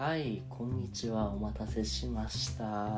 はい、こんにちは。お待たせしました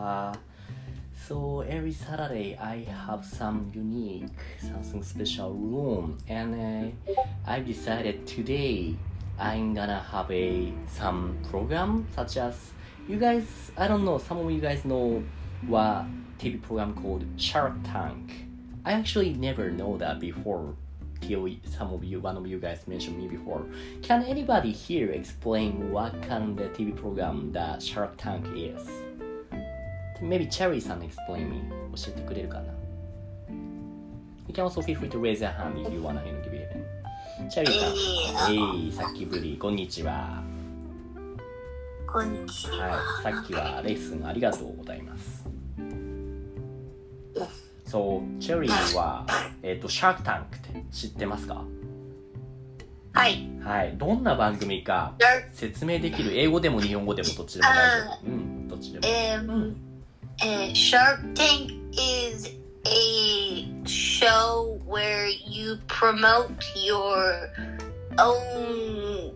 。So every Saturday I have some unique, something special room, and I've decided today I'm gonna have some program such as you guys. I don't know. Some of you guys know what TV program called Shark Tank. I actually never know that before. Till one of you guys mentioned me before. Can anybody here explain what kind of TV program that Shark Tank is? Maybe Cherry-san explain me. 教えてくれるかな? You can also feel free to raise your hand if you wanna give it. Cherry-san. さっきぶり。こんにちは。 こんにちは。 はい。さっきはレッスンありがとうございます。そう、チェリーは、シャークタンクって知ってますか？ はい。 はい。どんな番組か説明できる？英語でも日本語でもどっちでも大丈夫。うん、どっちでも。 Shark Tank is a show where you promote your own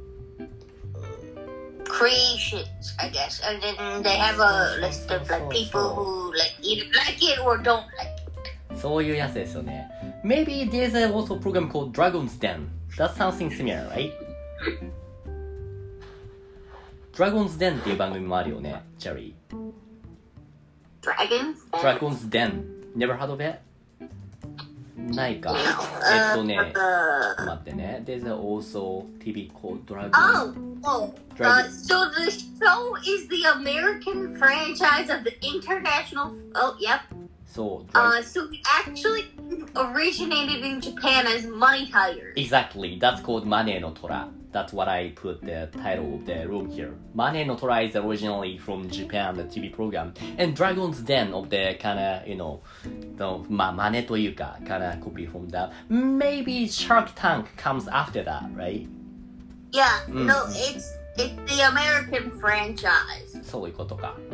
creations, I guess. And then they have a list of like people who like either like it or don't like it. そういうやつですよね。Maybe there's also a program called Dragon's Den. That's something similar, right? Dragon's Den っていう番組もあるよね、チェリー。Dragon's Den. Never heard of it? ないか。待ってね。There's also TV called Dragon. So the show is the American franchise of the international. Oh, yep. So it actually originated in Japan as Money Tigers. Exactly. That's called Mane no Tora. That's what I put the title of the room here. Mane no Tora is originally from Japan, the TV program. And Dragon's Den of the kinda, you know, Mane というか, kinda copy from that. Maybe Shark Tank comes after that, right? Yeah, no, it's the American franchise. そういうことか。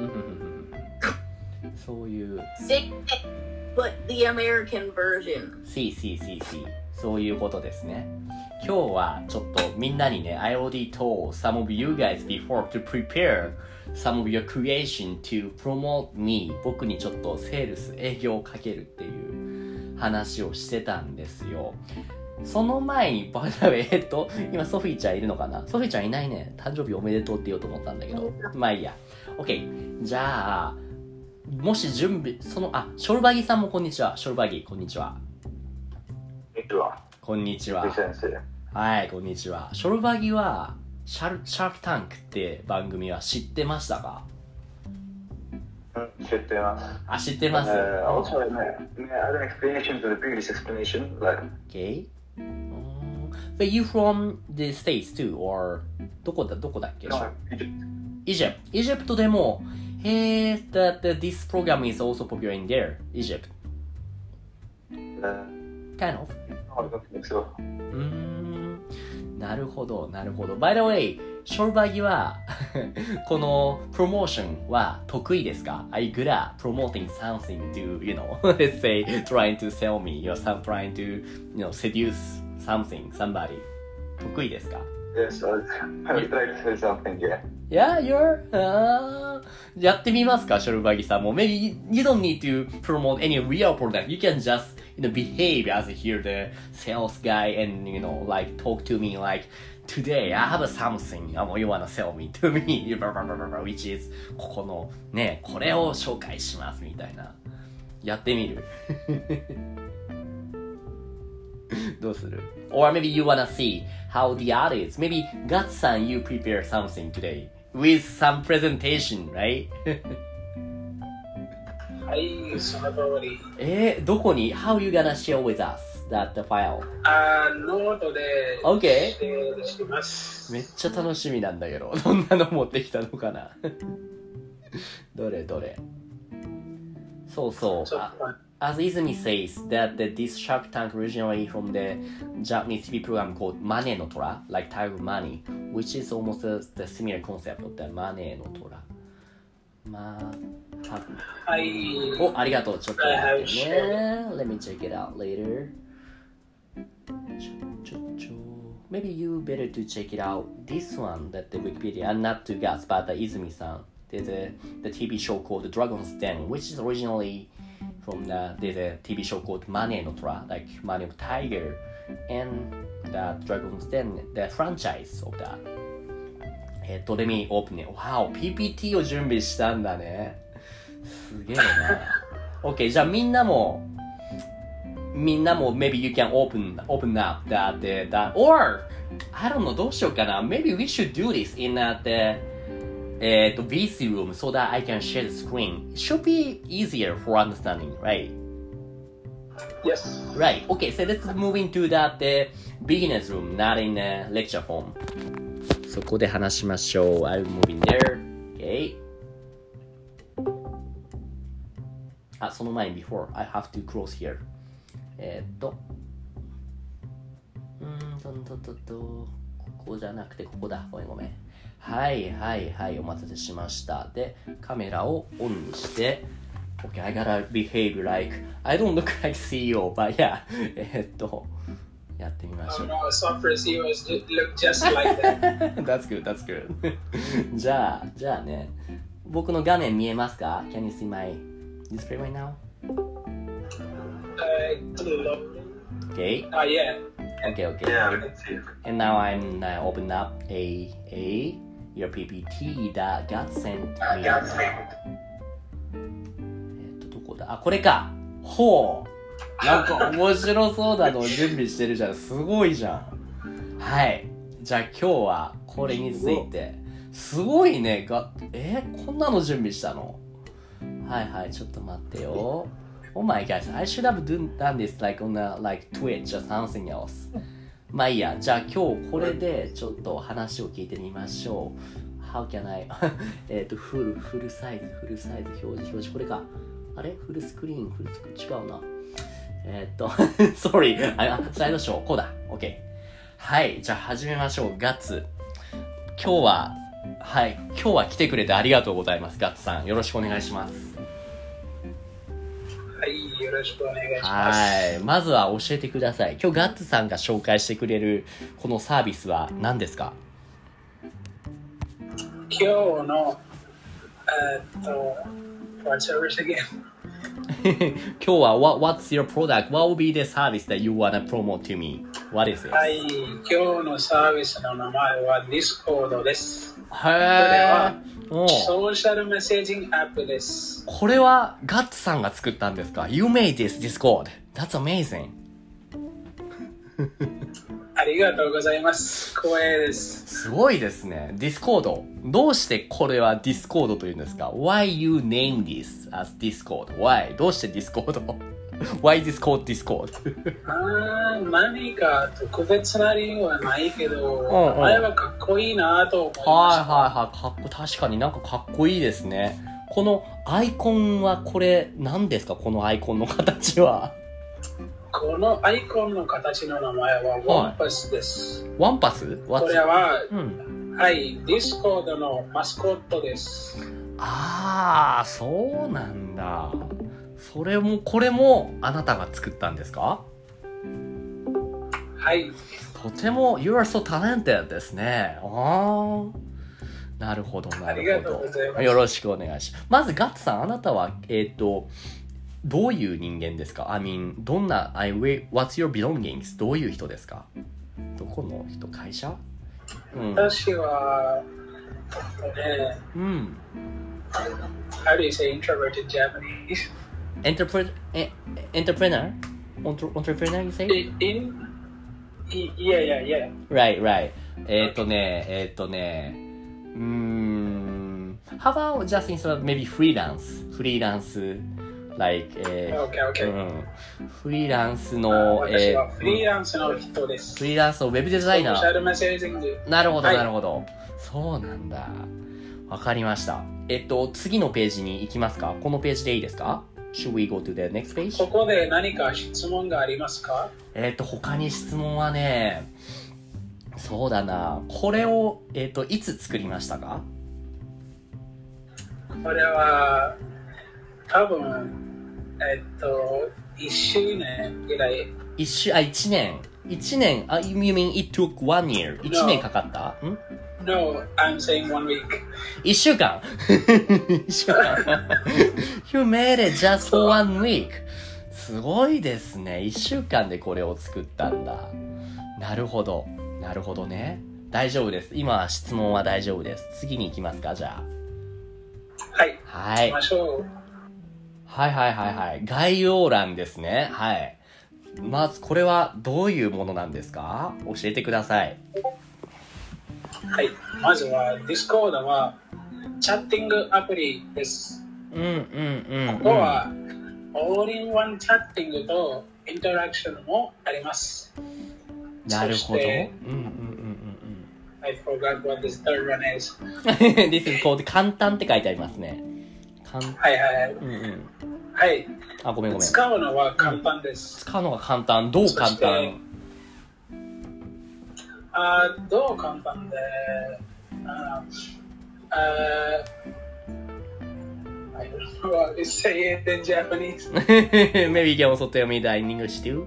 そういう。 But the American version. See. そういうことですね。今日はちょっとみんなにね、I already told some of you guys before to prepare some of your creation to promote me. 僕にちょっとセールス、営業をかけるっていう話をしてたんですよ。その前に、今ソフィーちゃんいるのかな？ソフィーちゃんいないね。誕生日おめでとうって言おうと思ったんだけど。まあいいや。OK。じゃあ、もし準備、ショルバギさんもこんにちは。ショルバギ、こんにちは。こんにちは。はい、こんにちは。ショルバギは、シャークタンクって番組は知ってましたか？ 知ってます。 知ってます。 Also, may I add an explanation to the previous explanation? Okay. But you from the States too, or どこだっけ？ No, Egypt. Egypt でも、that this program is also popular in there, Egypt. Kind of. I don't think so. なるほど。By the way, ショルバギはこのプロモーションは得意ですか？ Are you good at promoting something to, you know, let's say, trying to sell me, or trying to, you know, seduce somebody. 得意ですか？ Yes, I was trying to say something, yeah. Yeah, you're... やってみますか、ショルバギさんも。Maybe you don't need to promote any real product. You can just, you know, behave as here the sales guy and, you know, like talk to me like, today I have something you wanna sell me to me, which is ここのね、これを紹介しますみたいな。やってみるどうする？ Or maybe you wanna see how the art is. Maybe Gatsan, you prepare something today with some presentation, right? はい、その通り。 どこに？ How you gonna share with us that file? ノートで Okay. シェアしてます。 めっちゃ楽しみなんだけど、どんなの持ってきたのかなどれそう。As Izumi says, that this Shark Tank originally from the Japanese TV program called Mane no Tora, like Tiger Money, which is almost the similar concept of the Mane no Tora. はい。 ありがとう。ちょっと待ってね。Let me check it out later. maybe you better to check it out. This one that the Wikipedia, and not to guess, but the Izumi-san. There's the TV show called Dragon's Den, which is originally from there's a TV show called Mane no Tora, like Mane of Tiger, and the Dragon's Den, the franchise of that. Let me open it. Wow, PPT を準備したんだね。すげえな。OK、じゃあみんなも maybe you can open up that or I don't know どうしようかな maybe we should do this in the VC room so that I can share the screen. It should be easier for understanding, right? Yes. Right. Okay, so let's move into that beginner's room, not in lecture form. そこで話しましょう。I'll move in there. Okay. あ、その前に before I have to close here. ここじゃなくてここだ。ごめん。はいはいはい、お待たせしました。で、カメラをオンにして、Okay, I gotta behave like I don't look like CEO, but yeah. やってみましょう。 No, software CEOs look just like that. That's good, that's good. じゃあね、僕の画面見えますか ?Can you see my display right now? Okay. Yeah. Okay. Yeah, we can see it. And now I'm open up your PPT that got sent me. どこだ？あ、これか。ほう。なんか面白そうなのを準備してるじゃん。すごいじゃん。はい。じゃあ今日はこれについて。すごいね。こんなの準備したの？はいはい。ちょっと待ってよ。Oh my gosh, I should have done this like on like Twitch or something else. まあいいや。じゃあ今日これでちょっと話を聞いてみましょう。How can I? フルサイズ表示これか。あれフルスクリーン違うな。sorry スライドショーこうだ。OK。はい、じゃあ始めましょう。ガッツ。今日は来てくれてありがとうございます。ガッツさん、よろしくお願いします。 はい、よろしくお願いします。 はい、まずは教えてください。今日ガッツさんが紹介してくれるこのサービスは何ですか？ 今日のwhat service again? 今日は What's your product? What will be the service that you wanna promote to me? What is it? はい、今日のサービスの名前は Discord です。 へー。 ソーシャルメッセージングアップです。 これはガッツさんが作ったんですか？ You made this Discord. That's amazing. ありがとうございます。光栄です。 すごいですね。Discord。どうしてこれは Discord というんですか？ Why you name this as Discord? Why? どうして Discord?Why is this called Discord? 何か特別な理由はないけど、名前はかっこいいなと思いました。 はい。確かになんかかっこいいですね。このアイコンはこれ何ですか？このアイコンの形は。 このアイコンの形の名前はワンパスです。 ワンパス？ これは、はい、ディスコードのマスコットです。 そうなんだ。これもあなたが作ったんですか？ はい。 とても You are so talented ですね。なるほど。 ありがとうございます。 よろしくお願いします。まずガッツさん、あなたはどういう人間ですか？ I mean What's your belongings? どういう人ですか？どこの人？会社？ 私はHow do you say introverted Japanese? Entrepreneur? Entrepreneur, you say? Yeah. Right. How about just instead of maybe freelance, like, Okay. フリーランスの、 私はフリーランスの人です。 フリーランスのウェブデザイナー。 ソーシャルメッセージング。 なるほど。そうなんだ。わかりました。次のページに行きますか？このページでいいですか？ Should we go to the next page? ここで何か質問がありますか？ 他に質問はね、そうだな。これを、いつ作りましたか？ これは、多分、1周年ぐらい。 1年。 1年、you mean it took 1 year? 1年かかった？ No, I'm saying 1 week. 1週間1週間You made it just for 1 week. すごいですね。1週間でこれを作ったんだ。なるほど。なるほどね。大丈夫です。今質問は大丈夫です。次に行きますか、じゃあ。 はい。 はい。 行きましょう。 はいはいはいはい。概要欄ですね。はい。まずこれはどういうものなんですか？教えてください。 はい。まずは Discord はチャッティングアプリです。 うんうんうん、うん。 ここはオールインワンチャッティングとインタラクションもあります。 なるほど。うんうんうんうん。 I forgot what this third one is. This is called 簡単って書いてありますね。 はいはいはい。 うんうん。 はい。 あ、ごめんごめん。 使うのは簡単です。 使うのが簡単。どう簡単？ どう簡単で、I don't know how to say it in Japanese. Maybe you can also tell me that in English too.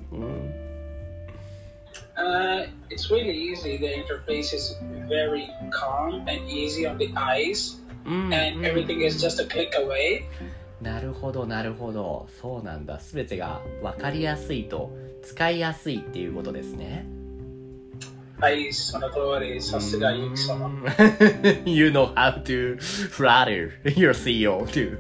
It's really easy. The interface is very calm and easy on the eyes, and everything is just a click away. なるほどなるほど。そうなんだ。すべてが分かりやすいと使いやすいっていうことですね。 はい、その通り。さすがゆき様。 You know how to flatter your CEO too.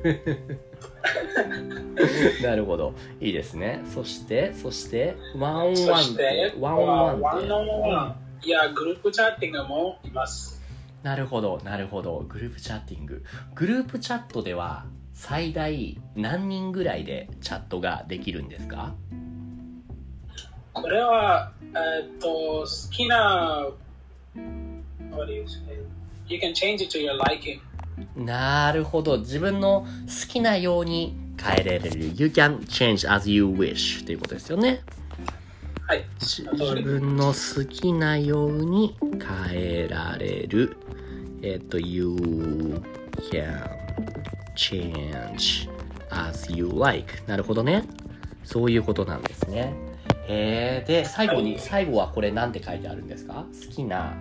なるほど。いいですね。そして、ワンオンワンって、ワンオンワンって。ワンオンワン。 いや、グループチャッティングもいます。 なるほど、なるほど。グループチャッティング。グループチャットでは最大何人ぐらいでチャットができるんですか？ これは、好きな、what do you say? You can change it to your liking. なるほど。自分の好きなように変えられる。You can change as you wish ということですよね。 はい。 自分の好きなように変えられる。You can change as you like. なるほどね。そういうことなんですね。で、最後はこれ何て書いてあるんですか？好きな、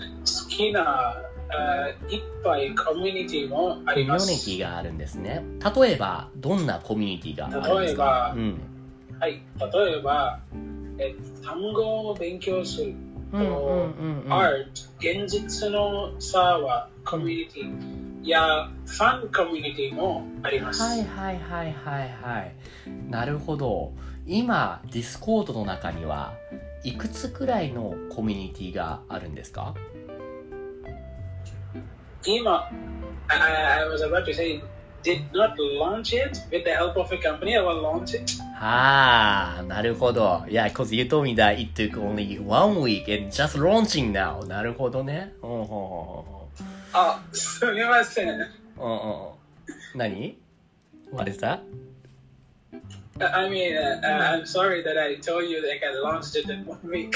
いっぱいコミュニティもあります。コミュニティがあるんですね。例えば、どんなコミュニティがあるんですか？ はい、例えば、単語を勉強すると、Art、現実のサーバーコミュニティやファンコミュニティもあります。 はい。なるほど。今、ディスコードの中にはいくつくらいのコミュニティがあるんですか？ 今、I was about to say, did not launch it with the help of a company. I will launch it. なるほど。Yeah, because you told me that it took only 1 week and just launching now. なるほどね。 すみません。 何？ What is that? I mean, I'm sorry that I told you that I launched it in 1 week.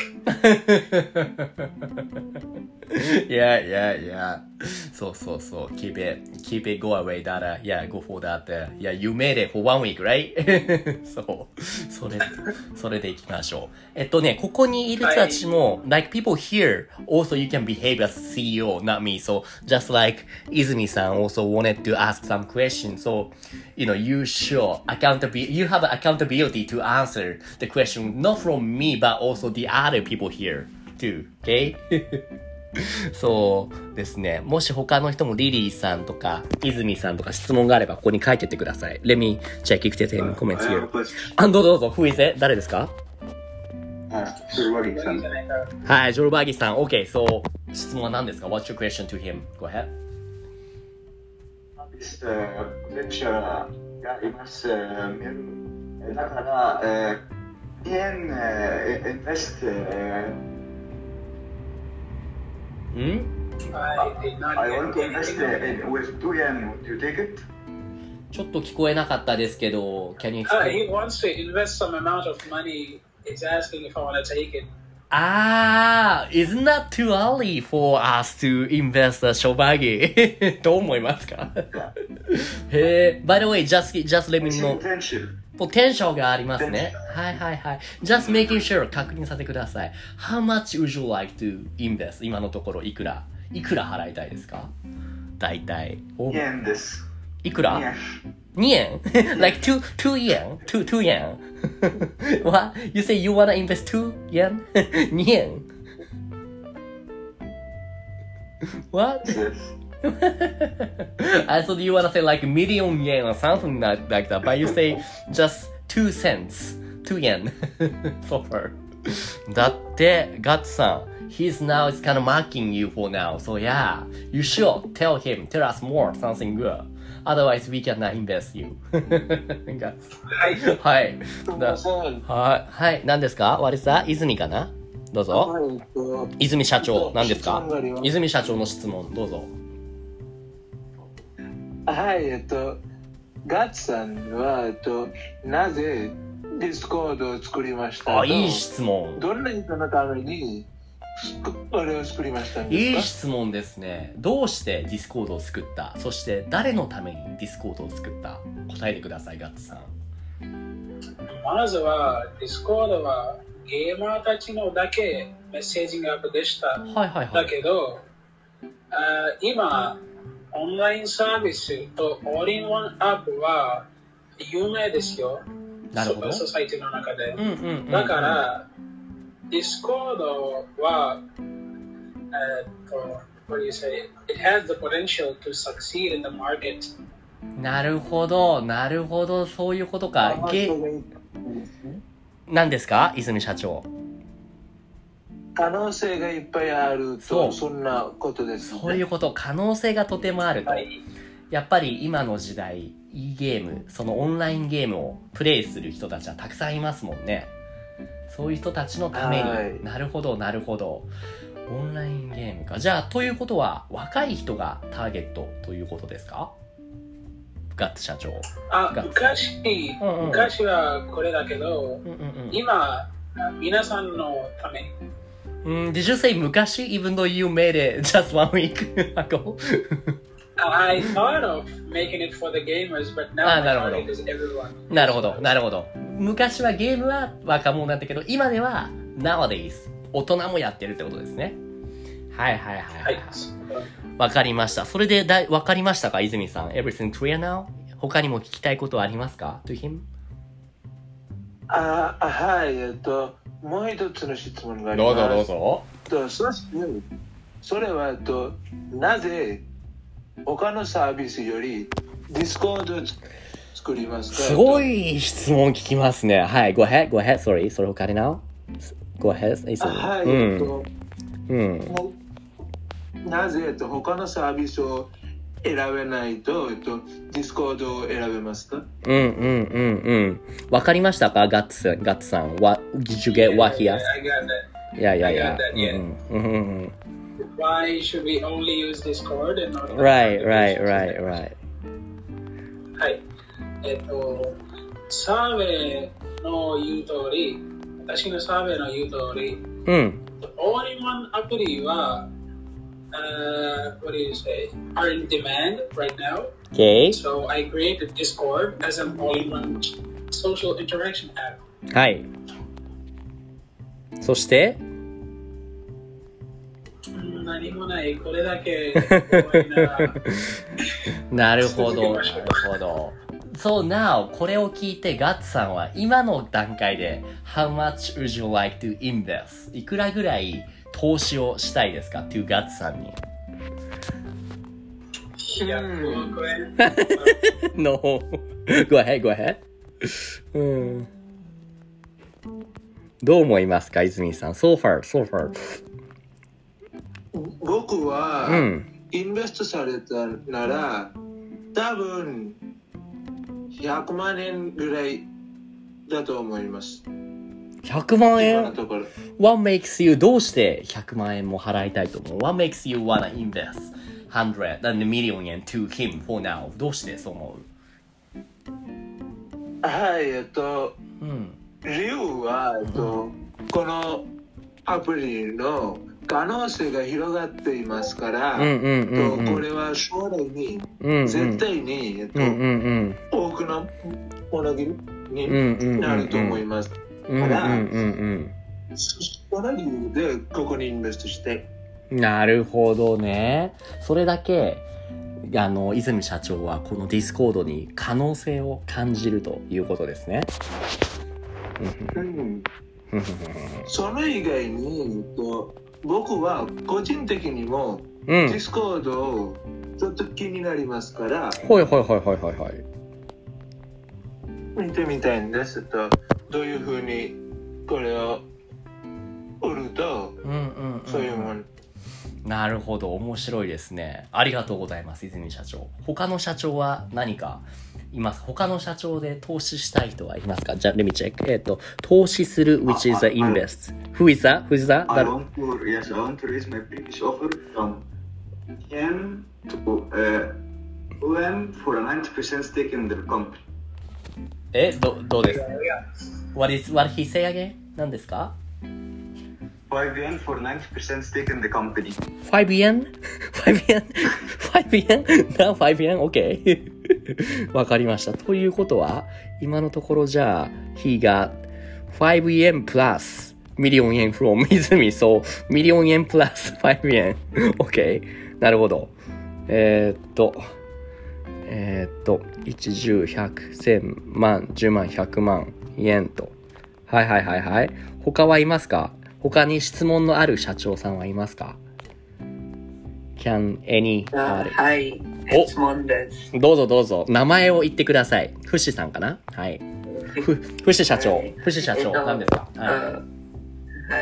Yeah. そう。Keep it go away that, go for that. Yeah, you made it for 1 week, right? そう。それでいきましょう。ね、ここにいる人たちも、like people here, also you can behave as CEO, not me. So, just like 泉さん also wanted to ask some questions. So, you have accountability to answer the question, not from me, but also the other people here too. Okay? そうですね。もし他の人もリリーさんとか泉さんとか質問があればここに書いてってください。Let me check if there's any comments here. どうぞ。Who is it? 誰ですか？ ジョルバギさん。 はい、ジョルバギさん。OK。そう。質問は何ですか？ What's your question to him? Go ahead. This potential があります。だから、invest I want to invest with 2 yen. Would you take it? ちょっと聞こえなかったですけど、Can you explain? He wants to invest some amount of money. He's asking if I want to take it. Isn't that too early for us to invest a Shobagi? どう思いますか？へえ。By the way, just let me know. ポテンシャルがありますね。はいはいはい。just making sure 確認させてください。How much would you like to invest? 今のところいくら払いたいですか？大体。 2円です。 いくら？ 2円like 2 yen? 2 yen? What? You say you wanna invest 2 yen? 2円What? I thought you wanna say like million yen or something like that, but you say just 2 cents, 2 yen for her. だって、ガッツさん、he's now is kind of mocking you for now. So yeah, you should tell us more, something good. Otherwise, we cannot invest you. はい。 はい。 すみません。 はい。何ですか？割さん、泉かな？どうぞ。泉社長、何ですか？泉社長の質問、どうぞ。 はい、ガッツさんは、なぜディスコードを作りましたか？ いい質問。 どんな人のためにこれを作りましたんですか？ いい質問ですね。どうしてディスコードを作った？そして誰のためにディスコードを作った？答えてください、ガッツさん。 まずはディスコードはゲーマーたちのだけメッセージングアップでした。 はいはいはい。 だけど、今、オンラインサービスとオールインワンアップは有名ですよ。 なるほど。 ソサイティの中で。だから、ディスコードは、what do you say? It has the potential to succeed in the market. なるほど、なるほど、そういうことか。何ですか、泉社長。 可能性がいっぱいあると、そんなことです、ね。 そういうこと、可能性がとてもあると。やっぱり今の時代、いいゲーム、そのオンラインゲームをプレイする人たちはたくさんいますもんね。そういう人たちのために。なるほど、なるほど。オンラインゲームか。じゃあ、ということは、若い人がターゲットということですか？ガッツ社長。 昔はこれだけど、今、皆さんのために。 Did you say 昔 even though you made it just 1 week ago? I thought of making it for the gamers, but now my target is everyone. なるほど、なるほど。昔はゲームは若者だったけど、今では nowadays 大人もやってるってことですね。はいはいはいはい。わかりました。それでわかりましたか、泉さん。Everything clear now? 他にも聞きたいことはありますか to him? はい、もう一つの質問があります。 どうぞどうぞ。 それはなぜ他のサービスよりディスコードを作りますか？ すごい質問聞きますね。はい、go ahead, sorry. それ他に now? Go ahead. はい、なぜ他のサービスを選べないと、ディスコードを選べますか？ わかりましたか、ガッツさん。What did you get? What he asked? Yeah. Why should we only use Discord and not? Right. はい。サーベイの言う通り、私のサーベイの言う通り、All-in-One アプリはwhat do you say? Are in demand right now. Okay. So I created Discord as an all-in-one social interaction app. はい。そして何もない。これだけ怖いな。 なるほど。So now これを聞いてガッツさんは今の段階で How much would you like to invest? いくらぐらい投資をしたいですか to ガッツさんに。 100億円。 No. Go ahead. どう思いますか、泉さん。So far. 僕は、インベストされたなら、多分100万円ぐらいだと思います。 100万円 What makes you どうして100万円も払いたいと思う What makes you wanna invest 100 million yen to him for now どうしてそう思うはい、理由は、このアプリの可能性が広がっていますから、これは将来に、絶対に、多くのものにになると思います。から、その理由でここにインベストして。 なるほどね。それだけ泉社長はこのディスコードに可能性を感じるということですね。 それ以外に僕は個人的にもディスコードをちょっと気になりますから、見てみたいんですと、どういうふうにこれを売ると、そういうもの。 なるほど、面白いですね。ありがとうございます、泉社長。他の社長は何かいます？他の社長で投資したい人はいますか？じゃあ、let me check. 投資する which is a invest. Who is that? Who is that? I want to raise my previous offer from 10 to OM for a 90% stake in the company. どうですか？ What he say again? 何ですか ？5 yen for 90% stake in the company. 5 yen? 5 yen? 5 yen? Now 5 yen? OK わかりました。ということは今のところじゃあ He got 5 yen plus million yen from 泉 So million yen plus 5 yen OK なるほど。1、10、100、1000万、10万、100万円と。はい。他はいますか？他に質問のある社長さんはいますか？ Can any はい、質問です。 どうぞ。名前を言ってください。フシさんかな？はい。フシ社長。フシ社長、何ですか？ はい。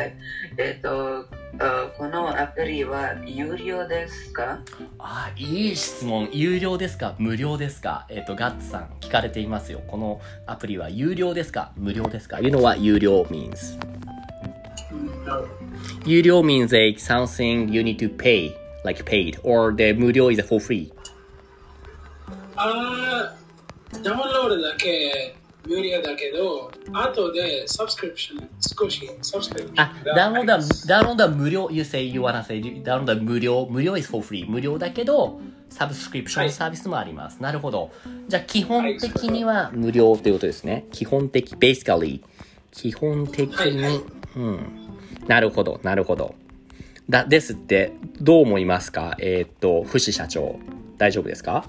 このアプリは有料ですか？ いい質問。有料ですか？無料ですか？ガッツさん聞かれていますよ。このアプリは有料ですか？無料ですか？ You know what 有料 means? 有料 means something you need to pay, like paid, or the 無料 is for free. ダウンロードだけ無料だけど、後でサブスクリプション少しサブスクリプションダウンロードは無料 you wanna say ダウンロードは無料 is for free 無料だけどサブスクリプションサービスもあります、なるほど。じゃあ基本的には無料ということですね。基本的 basically 基本的に、なるほどですってどう思いますか？フシ社長大丈夫ですか？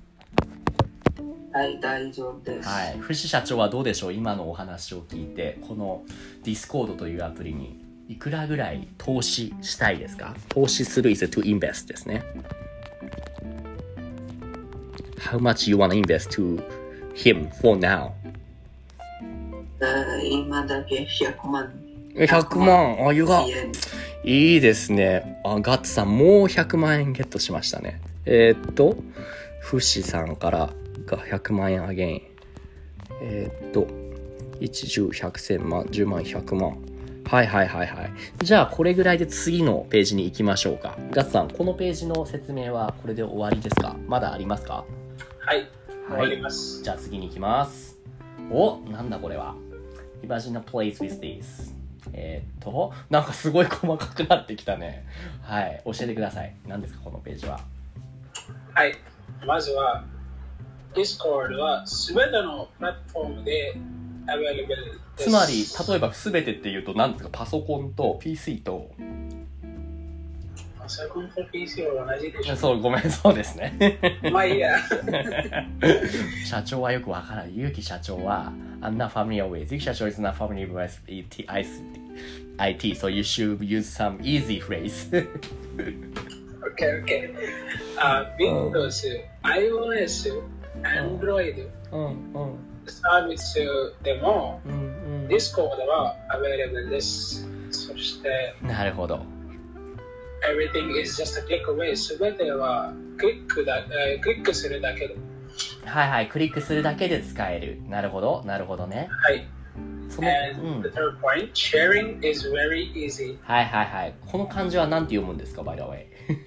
はい、大丈夫です。 はい、フシ社長はどうでしょう？今のお話を聞いてこのディスコードというアプリにいくらぐらい投資したいですか？投資する is to invest ですね。How much you wanna invest to him for now? 今だけ100万。 100万いいですね。ガッツさんもう100万円ゲットしましたね。フシさんからが100万円あげん。1、10、100、1000万、10万、100万。はい。じゃあこれぐらいで次のページに行きましょうか。ガッツさん、このページの説明はこれで終わりですか？まだありますか？ はい、終わります。 じゃあ次に行きます。なんだこれは。Imagine a place with this。なんかすごい細かくなってきたね。はい、教えてください。何ですかこのページは。 はい、まずは Discord はすべてのプラットフォームで available です。 つまり例えばすべてっていうと何ですか？パソコンと PC とパソコンと PC は同じでしょ。 そう、ごめん、そうですね。 まあいいや。 社長はよくわからない。ゆうき社長は I'm not familiar with. ゆうき社長 is not familiar with IT, so you should use some easy phrase. Okay. Windows、iOS、Android、サービスでも、Discord は available です。そして、 なるほど。 Everything is just a click away. すべてはクリックするだけで。 はい、クリックするだけで使える。なるほどね。 はい。And the third point, sharing is very easy. はい。この漢字は何て読むんですか、by the way?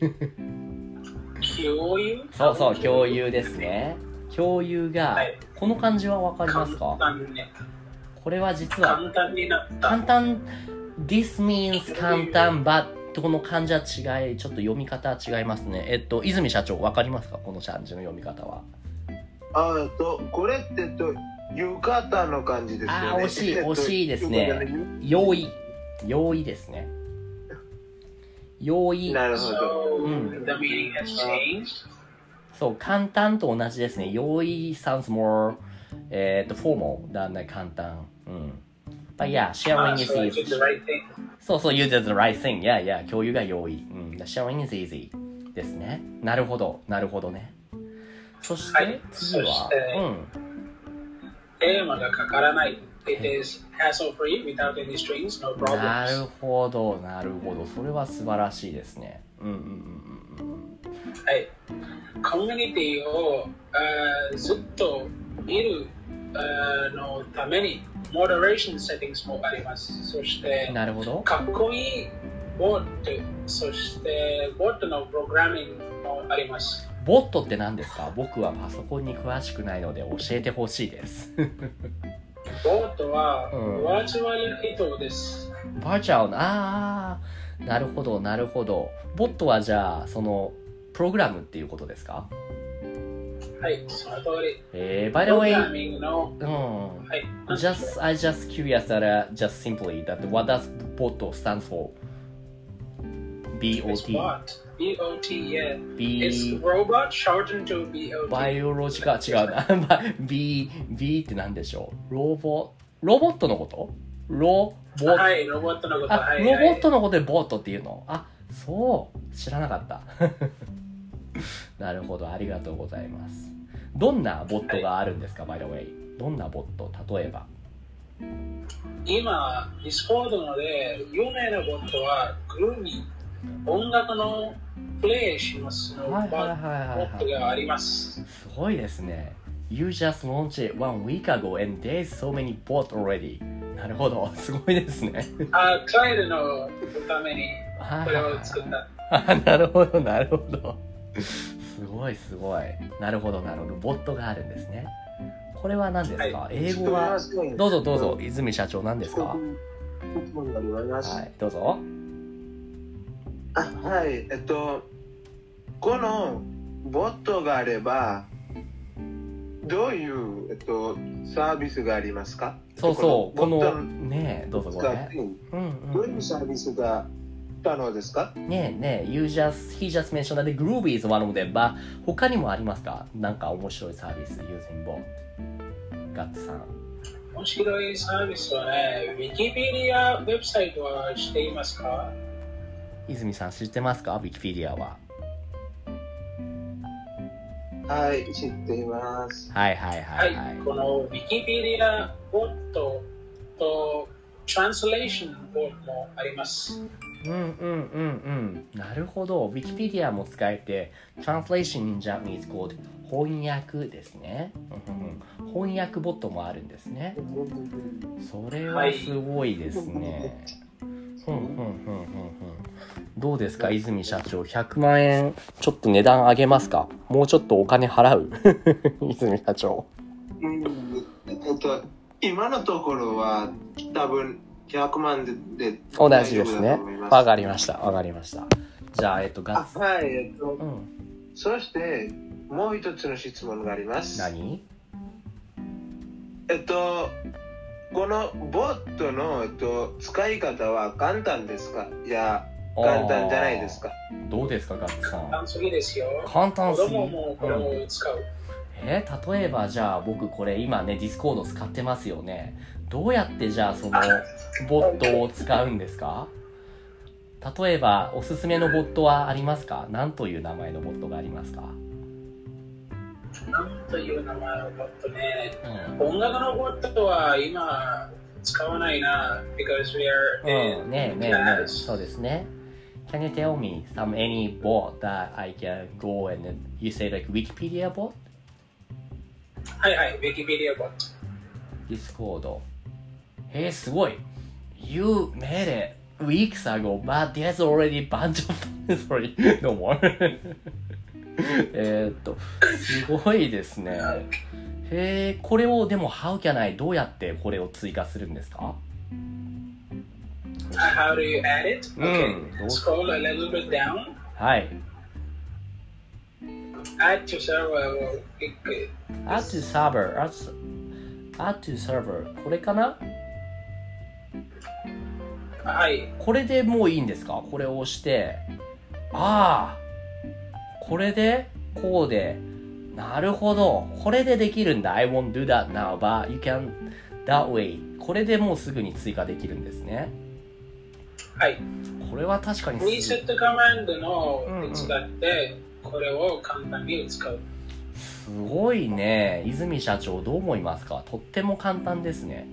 共有？ そう、共有ですね。共有が、この漢字はわかりますか？ 簡単ね。 これは実は簡単になった。 簡単。This means 簡単、butこの漢字は違い、ちょっと読み方は違いますね。泉社長、わかりますか？この漢字の読み方は。 これって浴衣の感じですよね。 あ、惜しい、惜しいですね。用意ですね。用意。 なるほど。 The meaning has changed. そう、簡単と同じですね。用意 sounds more, formal than 簡単。But yeah, sharing is So I easy. did the right thing. そうそう、you did the right thing. Yeah, 共有が容易。sharing is easy ですね。なるほどね。そして次は、 テーマがかからない。It is hassle-free without any strings, no problems. なるほど。それは素晴らしいですね。 はい。コミュニティをずっと見るのために、モデレーションセッティングもあります。そして、 なるほど。 かっこいいボット、そしてボットのプログラミングもあります。 ボットって何ですか？僕はパソコンに詳しくないので教えてほしいです。 ボットはバーチュアル人です。 バーチャル、なるほど。ボットはじゃあ、その、プログラムっていうことですか？ はい、その通り。 by the way, プログラミングの、 はい。I just curious that, just simply, that what does bot stands for? B-O-T. B-O-T, yeah. It's robot shortened to B-O-T. バイオロジカ、違うな。B って何でしょう？ロボットのこと？ はい、ロボットのこと。 ロボットのことでボットっていうの？あ、そう。知らなかった。なるほど、ありがとうございます。どんなボットがあるんですか、by the way？ どんなボット？例えば。 今、ディスコードので有名なボットはグルーミー。音楽のプレイしますのボットがあります。 すごいですね。You just launched it 1 week ago and there's so many bots already. なるほど、すごいですね。 クライアントのためにこれを作った。 なるほど。すごい。なるほど。ボットがあるんですね。これは何ですか？英語は。どうぞ、泉社長何ですか？はい、どうぞ。 はい、このボットがあれば、どういう、サービスがありますか？ そう、この、ね、どうぞごめん。 どういうサービスが可能ですか？ ね、he just mentioned that Groovy is one of them, but 他にもありますか？なんか面白いサービス using bot。ガッツさん。 面白いサービスはね、Wikipedia ウェブサイトは知っていますか？ 泉さん知ってますか？ Wikipedia は。 はい、知っています。 はい。 この Wikipedia ボットと Translation ボットもあります。 なるほど。Wikipedia も使えて、Translation in Japanese called 翻訳ですね。翻訳ボットもあるんですね。それはすごいですね。どうですか、泉社長。100万円ちょっと値段上げますか？もうちょっとお金払う？泉社長。 今のところは多分100万で同じですね。わかりました。じゃあ、ガッツ。 はい、そしてもう一つの質問があります。 何？ このボットの、使い方は簡単ですか？いや、簡単じゃないですか？ どうですか、ガッツさん。 簡単すぎですよ。 簡単すぎ。 子供もこれを使う。 例えばじゃあ僕これ今ね、ディスコード使ってますよね。どうやってじゃあそのボットを使うんですか？例えばおすすめのボットはありますか？何という名前のボットがありますか？ なんという名前のボットね。音楽のボットは今使わないな。because we are in ね、そうですね。Can you tell me any bot that I can go and you say like Wikipedia bot? はい、Wikipedia bot。 Discord。すごい。You made it weeks ago, but there's already a bunch of sorry, no more. すごいですね。これをでも How can I どうやってこれを追加するんですか？ How do you add it? Okay, scroll a little bit down. はい。 Add to server. Add to server. add to server これかな。 はい。 これでもういいんですか。これを押して、ああ、これでこうで、なるほど、これでできるんだ。I won't do that now, but you can that way。これでもうすぐに追加できるんですね。 はい。 これは確かにリセットコマンドの手伝って、これを簡単に使う。 すごいね。泉社長どう思いますか。とっても簡単ですね。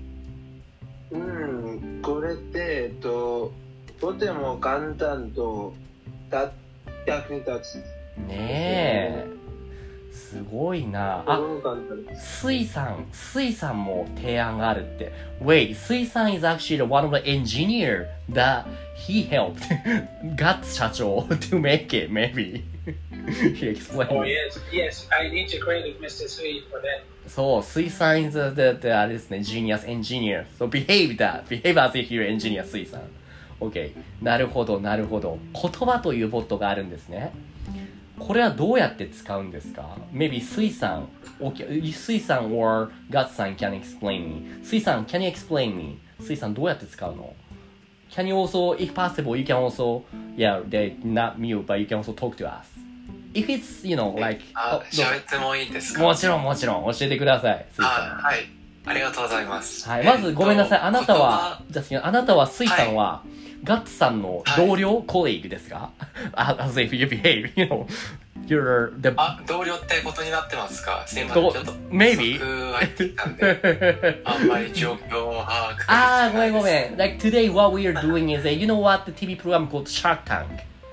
これってとても簡単と役に立つ。 ねえ。すごいな。あ、水さんも提案があるって。Wait, 水さん is actually one of the engineer that he helped Guts 社長 to make it, maybe. He explained. Oh, yes, I integrated Mr. Sui for that. そう、水さん is the あれですね、genius engineer. So behave as if you're engineer, 水さん。OK。なるほど、なるほど。言葉というボットがあるんですね。これはどうやって使うんですか ?Maybe 水さん or Guts さん can explain me. 水さん can you explain me? 水さんどうやって使うの Can you also, if possible, you can also, yeah, not mute, but you can also talk to us. If it's, you know, like... 喋ってもいいですか？ もちろん、教えてください。水さん。 はい。ありがとうございます。 はい。まず、ごめんなさい。あなたは、水さんは、ガッツさんの同僚、コリーグですか？ As if you behave, you know, you're the... 同僚ってことになってますか？すいません、ちょっと、 maybe? 入ってきたんで、あんまり状況を把握できないです。 ごめん。Like today what we are doing is, you know what, the TV program called Shark Tank?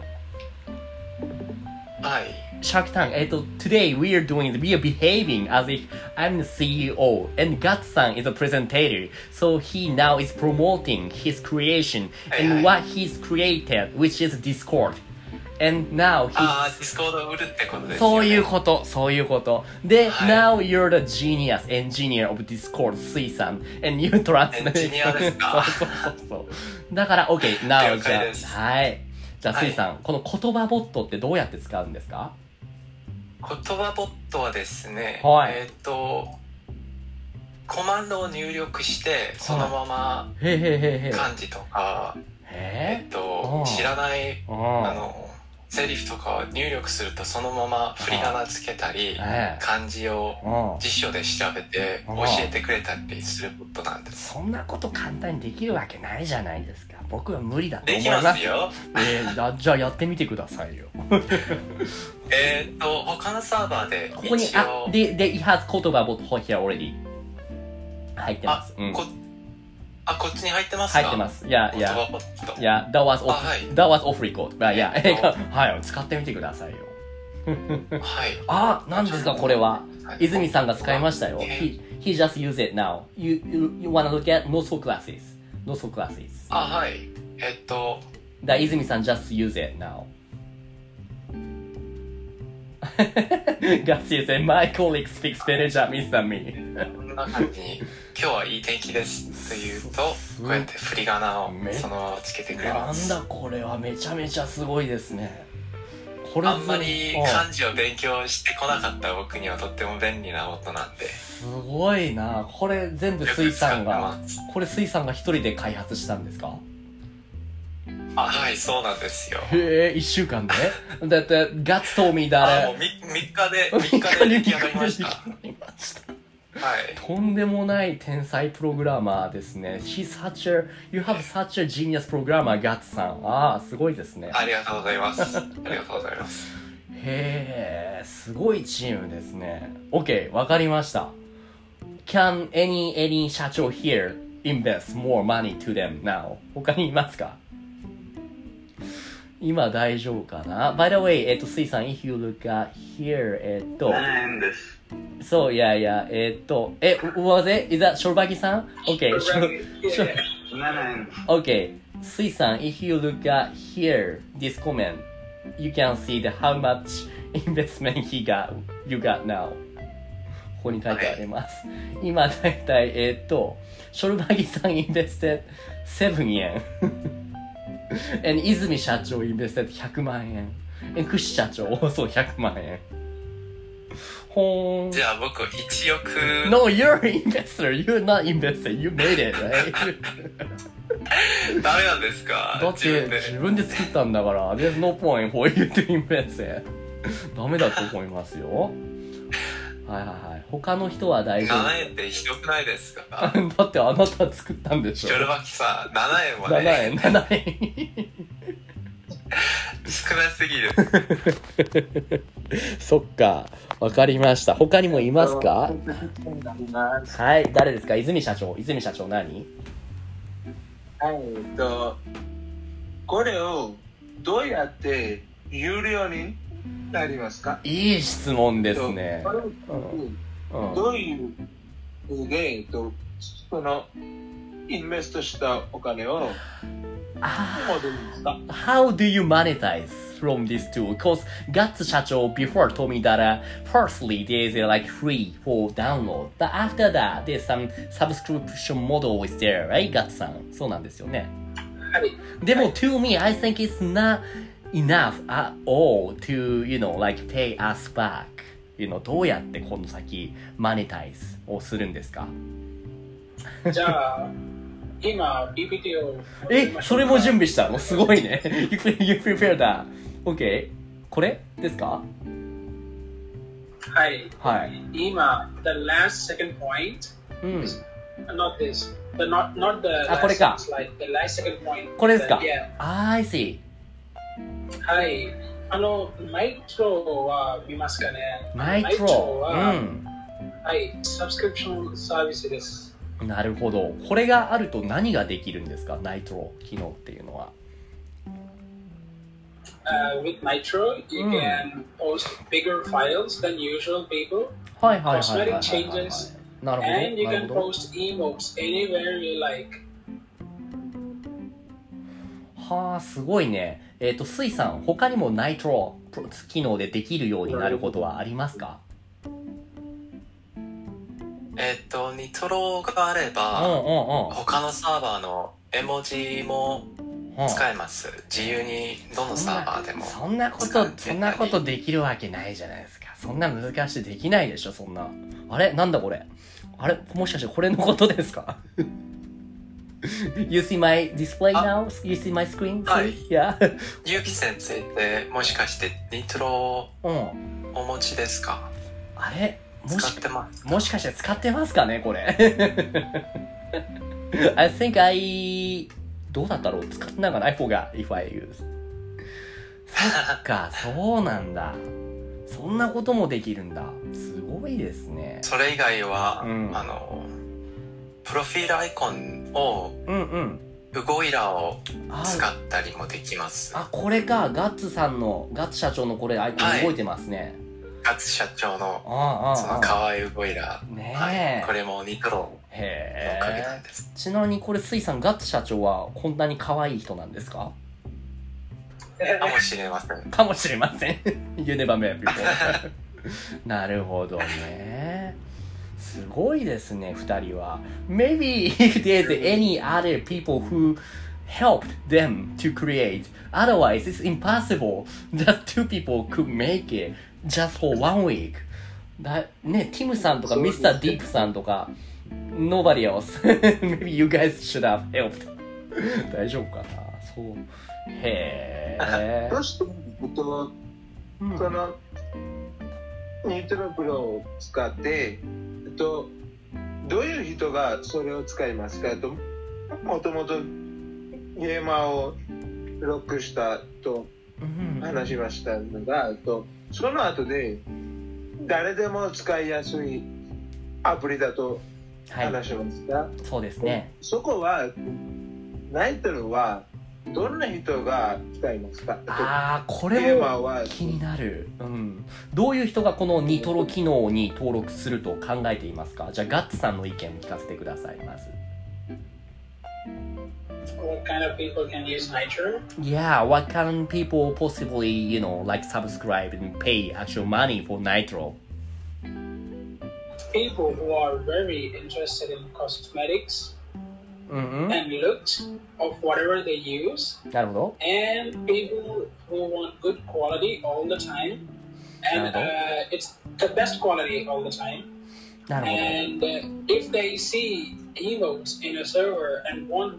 はい。 Shark Tank. Today we are behaving as if I'm the CEO and Guts-san is a presenter. So he now is promoting his creation and what he's created, which is Discord. And now Discord を売るってことですよね。 そういうこと。で、now you're the genius engineer of Discord, 水さん and you translate. エンジニアですか？ そう。だから、OK, now 了解です。 はい。じゃあ、水さん、この言葉ボットってどうやって使うんですか？ 言葉ボットはですね、 はい、 コマンドを入力してそのまま漢字とか、知らないセリフとかを入力するとそのまま振り仮名つけたり、漢字を辞書で調べて教えてくれたりするボットなんです。 そんなこと簡単にできるわけないじゃないですか。僕は無理だと思います。 できますよ。 じゃあやってみてくださいよ。 他のサーバーでここに、it has 言葉ボット here already 入ってます。 こっちに入ってますか？ 入ってます。いや、that was off record. はい、使ってみてくださいよ。 はい。 何ですかこれは。泉さんが使いましたよ。He just use it now. You wanna look at notes for classes. はい。 泉さん just use it now. Guts, you say my colleague speaks better Japanese than me. こんな感じに今日はいい天気ですと言うとこうやって振り仮名をそのままつけてくれます。 なんだこれはめちゃめちゃすごいですね。 あんまり漢字を勉強してこなかった僕にはとっても便利な音なんで。 すごいな。これ全部水さんが一人で開発したんですか？ はい、そうなんですよ。 へえ、1週間で？だって、Guts told me that もう3日で出来上がりました。はい。 とんでもない天才プログラマーですね。You have such a genius programmer, Guts さん。すごいですね。 ありがとうございます。 へえ、すごいチームですね。OK、わかりました。Can any 社長 here invest more money to them now? 他にいますか？今大丈夫かな？ By the way, 水さん、if you look at here, 7円です。 そう、was it? Is that ショルバギさん？ OK, 7円。 OK, 水さん、if you look at here, this comment, you can see how much investment you got now. ここに書いてあります。今だいたい、ショルバギさん invested 7円。and 泉社長 invested 100万円。クシ社長 also 100万円。 ほーん。 じゃあ僕1億。 No, you're an investor. You're not investor. You made it, right? ダメなんですか？ だって自分で作ったんだから。There's no point for you to invest it. ダメだと思いますよ。はいはいはい。他の人は大丈夫。 7円ってひどくないですか？ だってあなた作ったんでしょ。 ヒョルバキさん、7円はね。 7円。 少なすぎる。 そっか。わかりました。他にもいますか？はい。誰ですか？泉社長。泉社長何？ はい、これをどうやって有料になりますか？ いい質問ですね。 どういうふうで、そのインベストしたお金を戻るんですか？ How do you monetize from this tool? Because Guts 社長 before told me that firstly there's like free for download, but after that there's some subscription model is there, right? Guts さん、そうなんですよね。 はい。 でも to me, I think it's not enough at all to, like pay us back. どうやってこの先マネタイズをするんですか？ じゃあ、今 PPT を。 それも準備したの？すごいね。You prepare that. OK. これですか？ はい。 はい。 今、the last second point is not this. Not the last これか。 Like the last second point. これですか？ Yeah. I see. はい。ナイトロは見ますかね？ ナイトロは、はい、サブスクリプションサービスです。 なるほど。これがあると何ができるんですか？ナイトロ機能っていうのは。 With Nitro, you can post bigger files than usual people. はいはいはいはいはい。 Cosmetic changes. なるほど。 And you なる can ほど。 post emotes anywhere you like. はあ、すごいね。スイさん、他にもナイトロ機能でできるようになることはありますか？ ニトロがあれば、他のサーバーの絵文字も使えます。自由にどのサーバーでも。 そんなことできるわけないじゃないですか。そんな難しいできないでしょ、そんな。あれなんだこれ。あれもしかしてこれのことですか？ You see my display now? You see my screen? はい。 Yeah. ゆうき先生ってもしかしてニトロをお持ちですか？ あれ使ってますか？ もしかして使ってますかねこれ。I think どうだったろう使ってなんか I forgot if I use. そっか、そうなんだ。そんなこともできるんだ。すごいですね。 それ以外は、プロフィールアイコンを、ウゴイラを使ったりもできます。 これか。ガッツ社長のこれアイコン動いてますね。 ガッツ社長のその可愛いウゴイラ。 ねえ、 これもニトロのおかげなんです。 ちなみにこれスイさん、ガッツ社長はこんなに可愛い人なんですか？ かもしれません。 かもしれません。You never met before. なるほどね。すごいですね、二人は。Maybe if there's any other people who helped them to create, otherwise it's impossible. Just two people could make it just for 1 week. ね、ティムさんとかミスターディープさんとか Nobody else. Maybe you guys should have helped. 大丈夫かな。そう。へえ。 どうしてそのニュートロプロを使ってどういう人がそれを使いますか？もともとゲーマーをロックしたと話しましたのが、その後で誰でも使いやすいアプリだと話しますか？ そうですね。 そこはナイトロはどんな人が使いますか？ これも気になる。どういう人がこのニトロ機能に登録すると考えていますか？じゃあガッツさんの意見を聞かせてください。まず。 What kind of people can use Nitro? Yeah, what kind of people possibly, like subscribe and pay actual money for Nitro? People who are very interested in cosmetics and looks of whatever they use. なるほど。 And people who want good quality all the time. and it's the best quality all the time. なるほど。 And if they see emotes in a server and want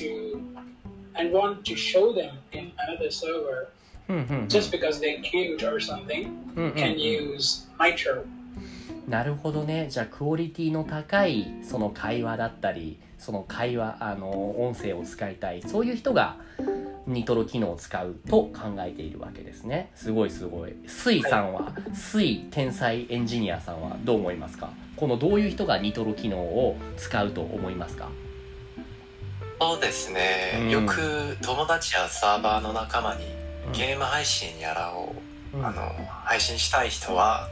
to show them in another server, just because they're cute or something, can use Nitro. なるほどね。じゃあクオリティの高いその会話だったり、その会話音声を使いたい、そういう人がニトロ機能を使うと考えているわけですね。すごいすごい。スイさんは、スイ天才エンジニアさんはどう思いますか？このどういう人がニトロ機能を使うと思いますか？ そうですね、よく友達やサーバーの仲間にゲーム配信やらを、配信したい人は、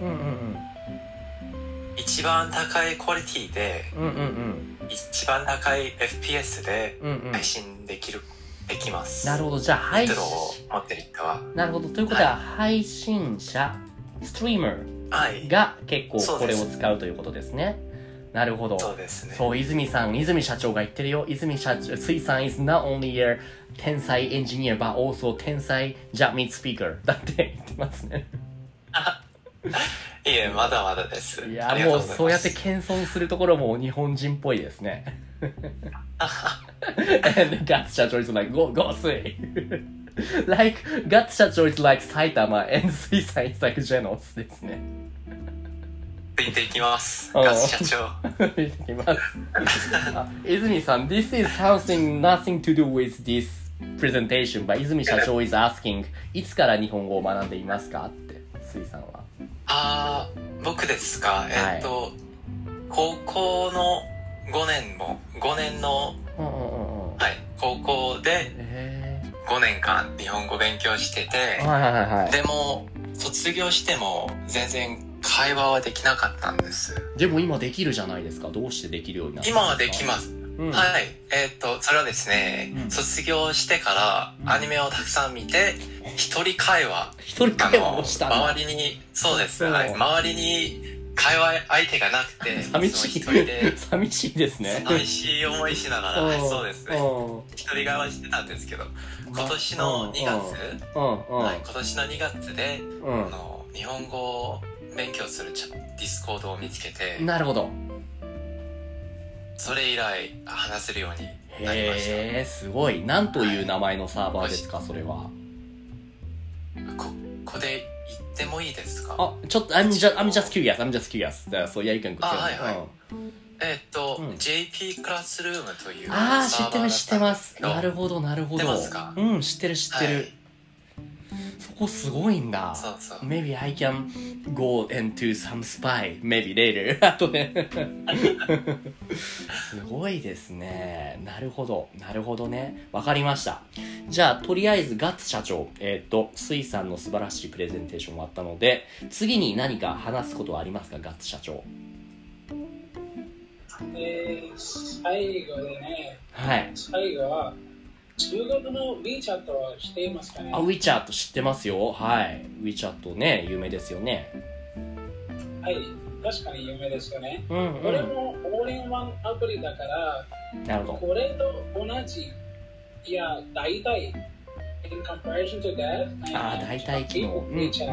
一番高いクオリティで、一番高い FPS で配信できます。 なるほど。じゃあ配信ニトロを持ってる人は。 なるほど。ということは、配信者、ストリーマーが結構これを使うということですね。なるほど。 そうですね。 そう、泉社長が言ってるよ。泉社長、水さん is not only a 天才エンジニア but also 天才 Japanese speaker だって言ってますね。 いえ、まだまだです。 いや、もうそうやって謙遜するところも日本人っぽいですね。And ガッツ社長 is like, go Sui. Like, ガッツ社長 is like 埼玉 and 水さん is like ジェノスですね。 ついていきます。ガツ社長。 ついていきます。泉さん、this is nothing to do with this presentation, but 泉社長 is asking, いつから日本語を学んでいますかって、水さんは。 僕ですか。高校の5年の、はい、高校で5年間日本語勉強してて、でも卒業しても全然会話はできなかったんです。 でも今できるじゃないですか。どうしてできるようになったんですか？ 今はできます。はい。それはですね、卒業してからアニメをたくさん見て、一人会話をしたんだ。周りに、そうです。はい。周りに会話相手がなくて、 寂しいですね。 寂しい思いしながら、そうですね。一人会話してたんですけど、今年の2月で、日本語を勉強するディスコードを見つけて、 なるほど。 それ以来話せるようになりました。 へー、すごい。なんという名前のサーバーですか、それは。 ここで言ってもいいですか？ ちょっと、I'm just curious. So yeah, you can go. はいはい。JP クラスルームという知ってます。なるほど。 知ってますか？ 知ってる。そこすごいんだ。 そうそう。 Maybe I can go into some spy. Maybe later. あとね。すごいですね。なるほどね。わかりました。じゃあ、とりあえずガッツ社長、水さんの素晴らしいプレゼンテーションもあったので、次に何か話すことはありますか、ガッツ社長。 最後でね。 はい。 最後は、中国の WeChat は知っていますかね ？WeChat 知ってますよ。はい。WeChat ね、有名ですよね。 はい、確かに有名ですよね。これもオールインワンアプリだから、 なるほど。 これと同じ、いや、大体、in comparison to that、 大体機能。 WeChat。はい。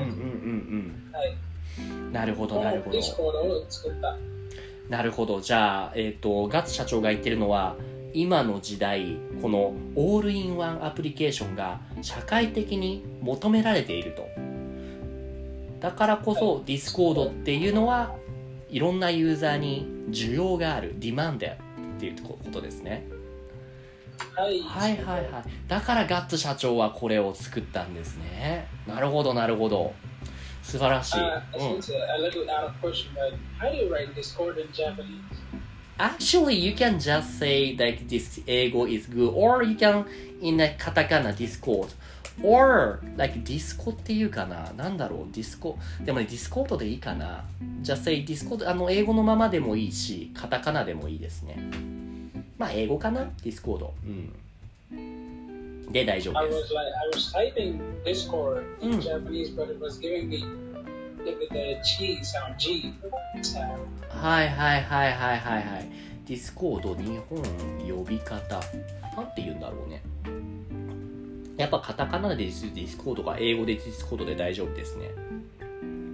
なるほど。 ディスコードを作った。 なるほど。じゃあ、ガッツ社長が言ってるのは、今の時代、このオールインワンアプリケーションが社会的に求められていると。だからこそ、ディスコードっていうのはいろんなユーザーに需要がある、ディマンドっていうことですね。はい。だからガッツ社長はこれを作ったんですね。なるほど。素晴らしい。Actually, you can just say like this 英語 is good, or you can in a カタカナ Discord, or like ディスコっていうかな、なんだろう、ディスコでもね、ディスコードでいいかな。just say Discord、英語のままでもいいし、カタカナでもいいですね。まあ英語かな、ディスコード。で大丈夫です。 I was typing Discord in Japanese, but it was giving me the G sound, G sound. はい。ディスコード日本呼び方なんて言うんだろうね。やっぱカタカナでディスコードか英語でディスコードで大丈夫ですね。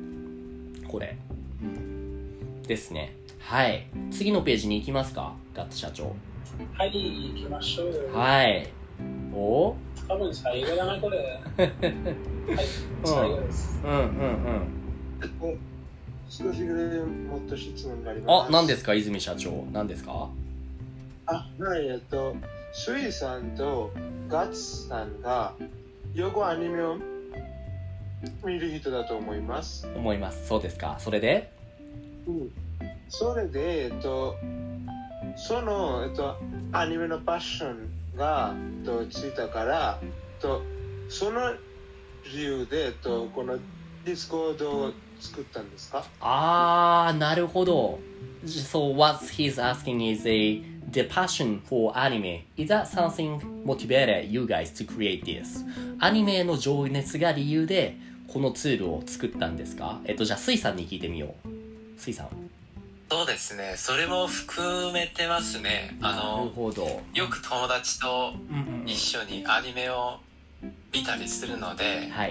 これ、ですね。はい、次のページに行きますか、ガッツ社長。 はい、行きましょう。 はい。多分最後だな、これ。はい、最後です。 少しぐらいもっと質問があります。 何ですか、泉社長。何ですか。 はい、スイさんとガッツさんがよくアニメを見る人だと思います。 そうですか。それで、 それで、その、アニメのパッションがついたから、その理由でこのディスコードを作ったんですか？ なるほど。So what he's asking is the passion for anime. Is that something motivated you guys to create this? アニメの情熱が理由でこのツールを作ったんですか？じゃあスイさんに聞いてみよう。スイさん。 そうですね。それも含めてますね。 なるほど。 よく友達と一緒にアニメを見たりするので、 はい。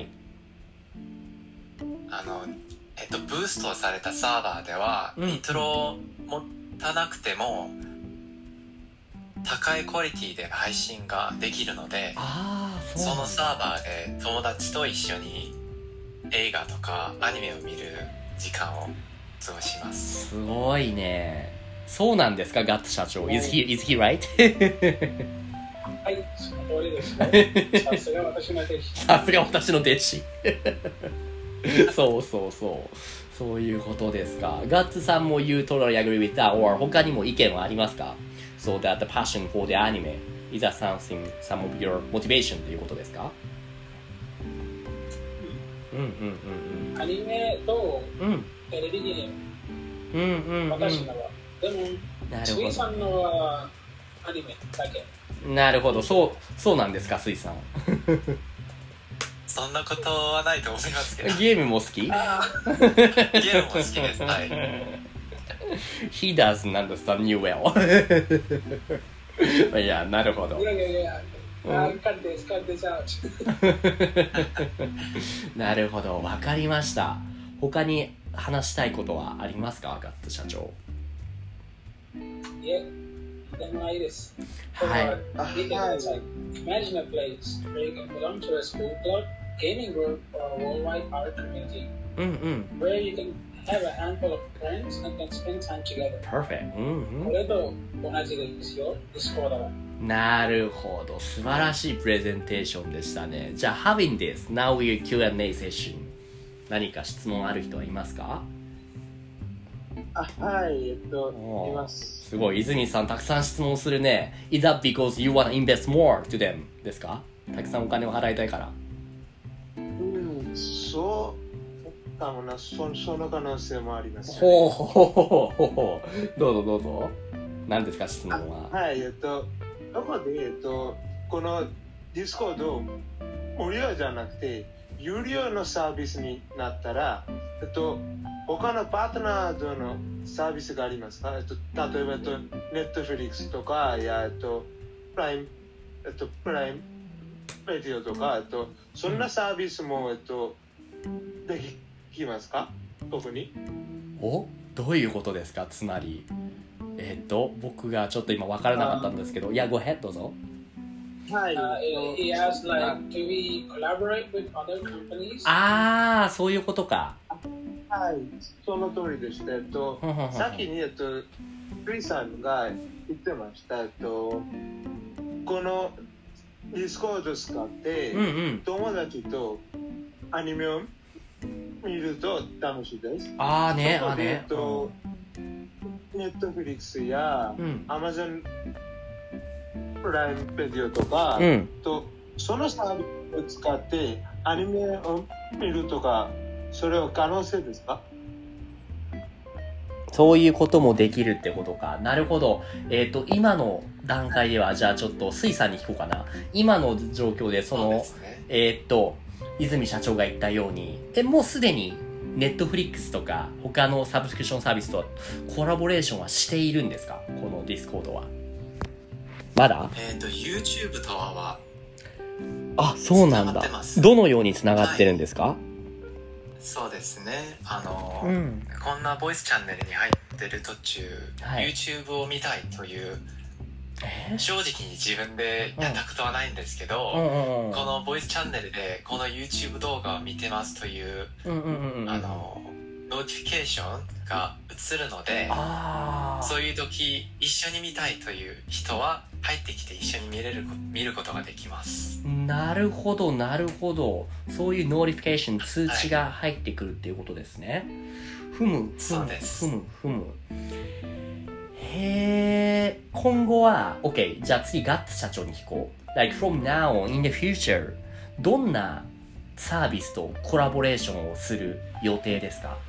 ブーストされたサーバーでは、ニトロを持たなくても高いクオリティで配信ができるので、そのサーバーで友達と一緒に映画とかアニメを見る時間を過ごします。 すごいね。そうなんですか、ガッツ社長。Is he right? はい、その通りですね。さすが私の弟子。 さすが私の弟子。そういうことですか。ガッツさんも You totally agree with that, or 他にも意見はありますか？ So that the passion for the anime, is that something, some of your motivation ということですか？ アニメとテレビゲーム、私のは。でも、スイさんのはアニメだけ。 なるほど、そうなんですか、スイさん。 そんなことはないと思いますけど。 ゲームも好き？ゲームも好きです。はい。 He doesn't understand you well. いや、なるほど。なるほど、わかりました。他に話したいことはありますか、ガッツ社長。 いえ、でもないです。 はい。 Imagine a place where you can belong to a school club, gaming group, or a worldwide art community, where you can have a handful of friends and can spend time together. Perfect. これと同じですよ、Discord は。 なるほど、素晴らしいプレゼンテーションでしたね。じゃあ Having this, now we Q&A session. 何か質問ある人はいますか？ はい、います。 すごい、泉さんたくさん質問するね。Is that because you want to invest more to them? ですか？たくさんお金を払いたいから。 そうかもな、その可能性もあります、ね。 ほう、どうぞ。何ですか、質問は。 はい、どこで、このディスコード無料じゃなくて有料のサービスになったら、他のパートナーとのサービスがありますか？例えばネットフリックスとかプライムレディオとかそんなサービスもできますか？特に。 どういうことですか？つまり僕がちょっと今分からなかったんですけど、Go ahead、どうぞ。 はい。 He asked do we collaborate with other companies? そういうことか。 はい、その通りでした。先にクリさんが言ってました。このディスコードを使って、友達とアニメを見ると楽しいです。ネットフリックスやアマゾンプライムビデオとか、そのサービスを使ってアニメを見るとか、それは可能性ですか？ そういうこともできるってことか。なるほど。今の段階では、じゃあちょっとスイさんに聞こうかな。今の状況で泉社長が言ったように、もうすでにネットフリックスとか他のサブスクリプションサービスとコラボレーションはしているんですか？このディスコードは。まだ ？YouTube とはそうなんだ。どのようにつながってるんですか？ そうですね。 こんなボイスチャンネルに入ってる途中、 はい、 YouTube を見たいという、正直に自分でやったことはないんですけど、このボイスチャンネルでこの YouTube 動画を見てますという、ノーティフィケーションが映るので、そういう時一緒に見たいという人は入ってきて一緒に見ることができます。 なるほどなるほど。そういうノーティフィケーション通知が入ってくるっていうことですね。 そうです。 へー、今後は OK、 じゃあ次ガッツ社長に聞こう。 Like from now on in the future どんなサービスとコラボレーションをする予定ですか？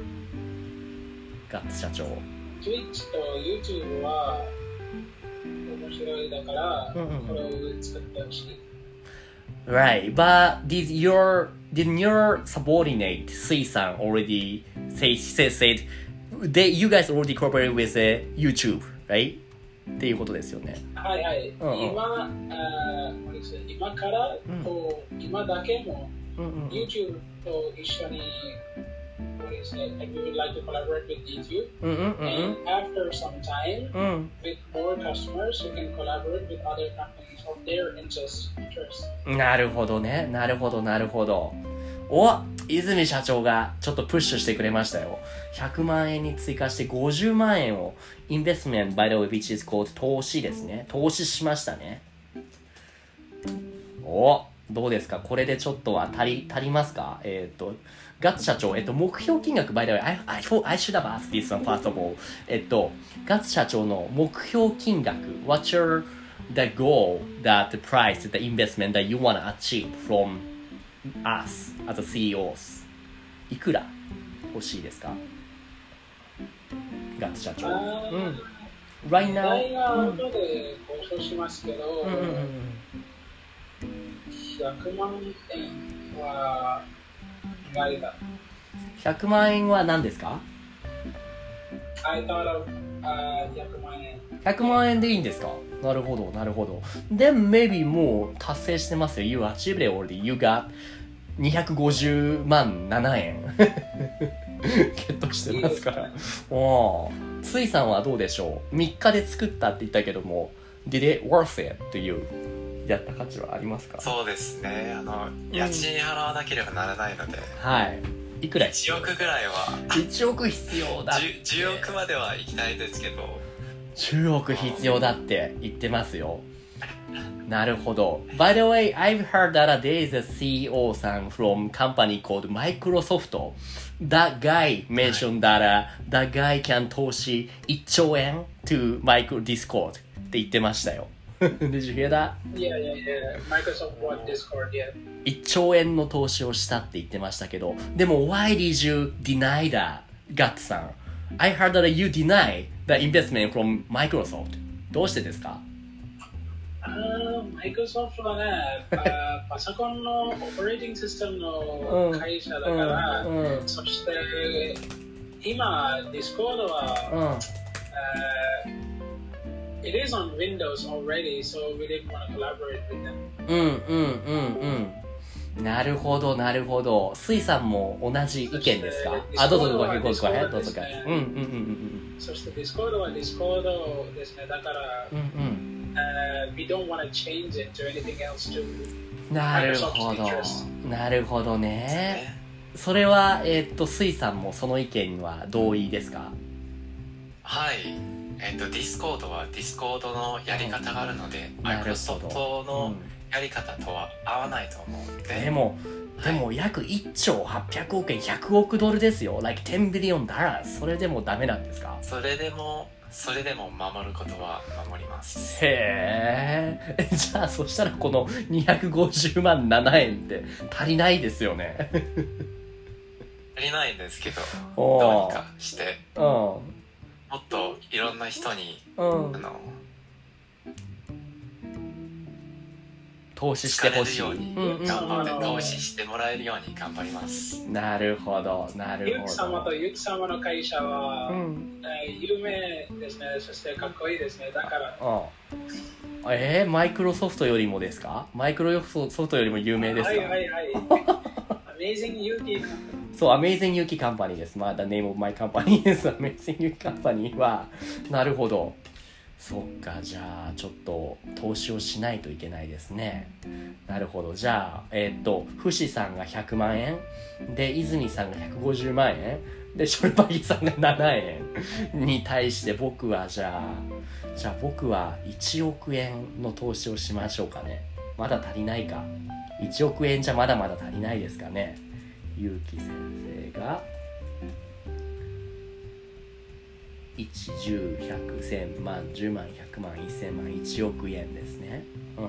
ガッツ社長。 Twitch と YouTube は面白いだから、これを作ってほしい。 Right, but did your subordinate Sui-san already said you guys already collaborate with YouTube, right? っていうことですよね。 はいはい。今からと今だけも、YouTube と一緒にand we would like to collaborate with YouTube. And after some time, with more customers, we can collaborate with other companies of their interest. なるほどね。なるほどなるほど。お、泉社長がちょっとプッシュしてくれましたよ。100万円に追加して50万円をインベストメント by the way which is called 投資ですね。投資しましたね。お、どうですか？これでちょっとは足りますか？ガッツ社長、目標金額 by the way I should have asked this one first of all。ガッツ社長の目標金額 What's your the goal that the price the investment that you want to achieve from us as a CEOs いくら欲しいですか？ガッツ社長。Right now 後で交渉しますけど、100万円はないだ。 100万円は何ですか？ I thought of 100万円。 100万円でいいんですか？なるほどなるほど。Then maybe もう達成してますよ。You achieved it already. You got 250万7円ゲットしてますから。おー、ついさんはどうでしょう？3日で作ったって言ったけども Did it worth it to you？ やった価値はありますか？ そうですね。家賃払わなければならないので、 はい。いくら 1億ぐらいは 1億必要だって。 10億までは行きたいですけど 10億必要だって言ってますよ。なるほど。By the way, I've heard that there is a CEO さん from company called Microsoft. That guy mentioned that that guy can 投資1兆円 to Discord って言ってましたよ。Did you hear that? Yeah. Microsoft bought Discord, yeah. 1兆円の投資をしたって言ってましたけど、でも Why did you deny that, ガッツさん。I heard that you deny the investment from Microsoft. どうしてですか？ マイクロソフトはね、パソコンのオペレーティングシステムの会社だから、そして今、Discord は、it is on Windows already, so we didn't want to collaborate with them. なるほどなるほど。スイさんも同じ意見ですか？あ、どうぞどうぞどうぞ。 そして Discord は Discord ですね。だから、we don't want to change it to anything else to なるほど。なるほどね。それはスイさんもその意見には同意ですか？ はい。Discord は Discord のやり方があるので、Microsoft のやり方とは合わないと思うので。 でも約1兆800億円100億ドルですよ。like 10 billion dollars。それでもダメなんですか？ それでも守ることは守ります。 へえ。じゃあそしたらこの250万7円って足りないですよね。 足りないんですけど、どうにかして、もっといろんな人に、 投資してほしい。 頑張って投資してもらえるように頑張ります。 なるほど、なるほど。 ゆき様とゆき様の会社は、有名ですね。そしてかっこいいですね。だから。 マイクロソフトよりもですか？マイクロソフトよりも有名ですか？ はい。Amazing Yuki そう、Amazing Yuki Company です。まあ、the name of my company です。Amazing Yuki Company は、なるほど。そっか、じゃあ、ちょっと、投資をしないといけないですね。なるほど。じゃあ、フシさんが100万円。で、泉さんが150万円。で、ショルバギさんが7円に対して僕はじゃあ僕は1億円の投資をしましょうかね。まだ足りないか。1億円じゃまだまだ足りないですかね。ゆうき先生が1、10、100、1000万、10万、100万、1000万、1億円ですね。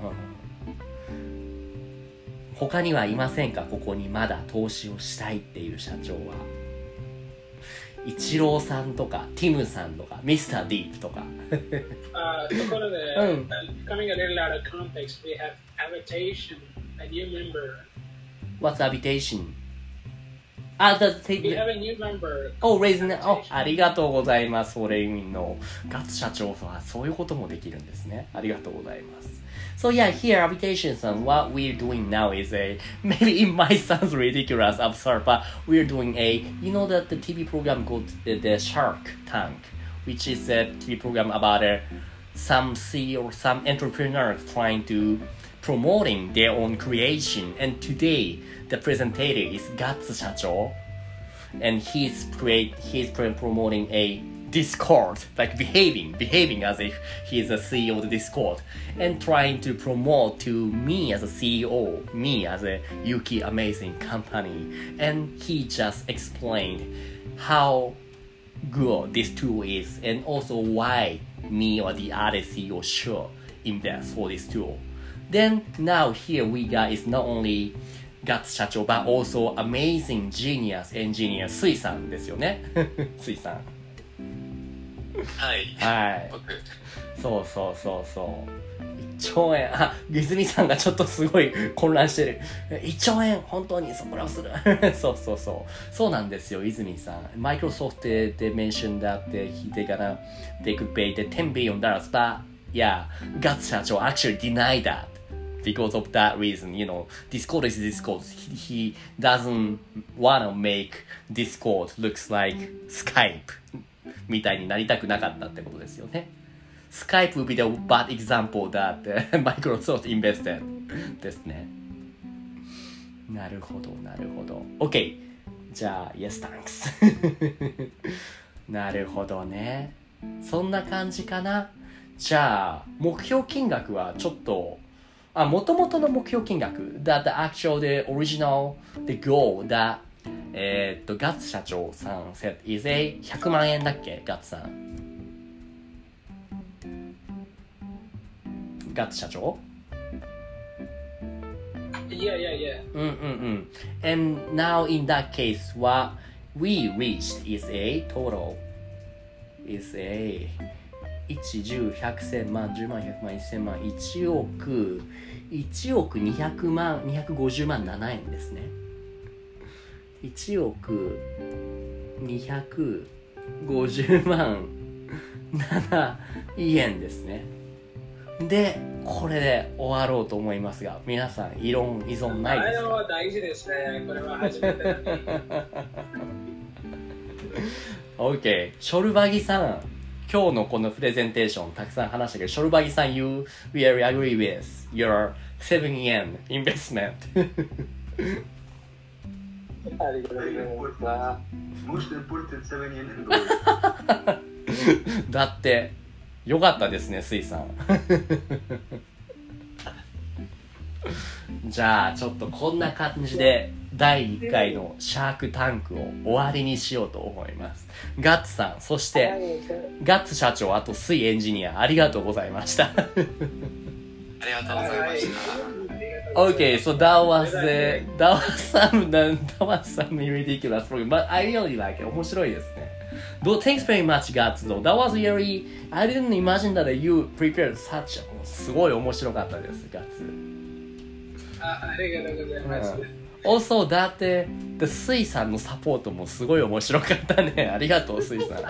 他にはいませんか？ここにまだ投資をしたいっていう社長は。イチローさんとかティムさんとかミスターディープとかところで、coming a little out of context, we have Habitation, a new member. What's Habitation? We have a new member. Oh, raising. Oh, ありがとうございます。フォレイミンのガッツ社長はそういうこともできるんですね。ありがとうございます。So yeah, here Habitation son, what we're doing now is maybe it might sound ridiculous, absurd, but we're doing you know that the TV program called the Shark Tank, which is a TV program about some CEO or some entrepreneurs trying to promoting their own creation. And today, the presenter is Gatsu Shacho, and he's promoting a Discord, like behaving as if he is a CEO of the Discord, and trying to promote to me as a CEO, me as a Yuki Amazing Company. And he just explained how good this tool is, and also why me or the other CEO should invest for this tool. Then now here we got is not only Gatsu Shacho, but also amazing genius engineer スイさんですよね。スイさん。 はい。 はい。 僕。 そう。1兆円。泉さんがちょっとすごい混乱してる。1兆円本当にそこらをする。そうなんですよ、泉さん。Microsoft they mentioned that they could pay the $10 billion, but yeah, Gatsu 社長 actually denied that. Because of that reason, you know, Discord is Discord. He doesn't want to make Discord looks like Skype みたいになりたくなかったってことですよね。Skype would be the bad example that Microsoft invested ですね。なるほど。OK。じゃあ、Yes, thanks 。なるほどね。そんな感じかな。じゃあ、目標金額はちょっと元々の目標金額 that the actual, the original, the goal that ガッツ社長さん said is 100万円だっけガッツさんガッツ社長 Yeah. And now in that case what we reached is a total is a 1、10、100、1000万、10万、100万、1000万、1億200万、250万7円ですね。1億250万7円ですね。で、これで終わろうと思いますが、皆さん異論依存ないですか？ は大事ですね。これは初めて。 OK、ショルバギさん。今日のこのプレゼンテーションたくさん話したけど、ショルバギさん You really agree with your 7 yen investment ありがとうございます。 Most important 7 yen in gold だってよかったですね、スイさんじゃあちょっとこんな感じで第1回のシャークタンクを終わりにしようと思います。ガッツさん、そしてガッツ社長、あとスイエンジニア、ありがとうございましたありがとうございました。 Okay, so that was some ridiculous program, but I really like it. 面白いですね。Thanks very much, Guts. Though that was really, I didn't imagine that you prepared such. すごい面白かったです、Guts。 ありがとうございます。 Also, だってスイさんのサポートもすごい面白かったね。ありがとう、スイさん。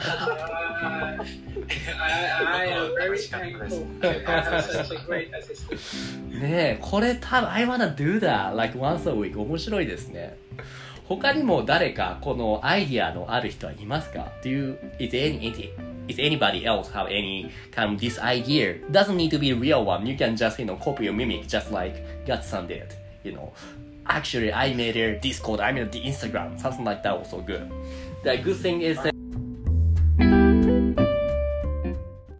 I am very thankful. I have such a great assistant. ねえ、これ多分 I wanna do that like once a week 面白いですね。 他にも誰かこのアイディアのある人はいますか？ Is anybody else have any kind of this idea? Doesn't need to be a real one. You can just, copy or mimic just like Gatsu-san did. Actually, I made a Discord, I made the Instagram, something like that also good. The good thing is that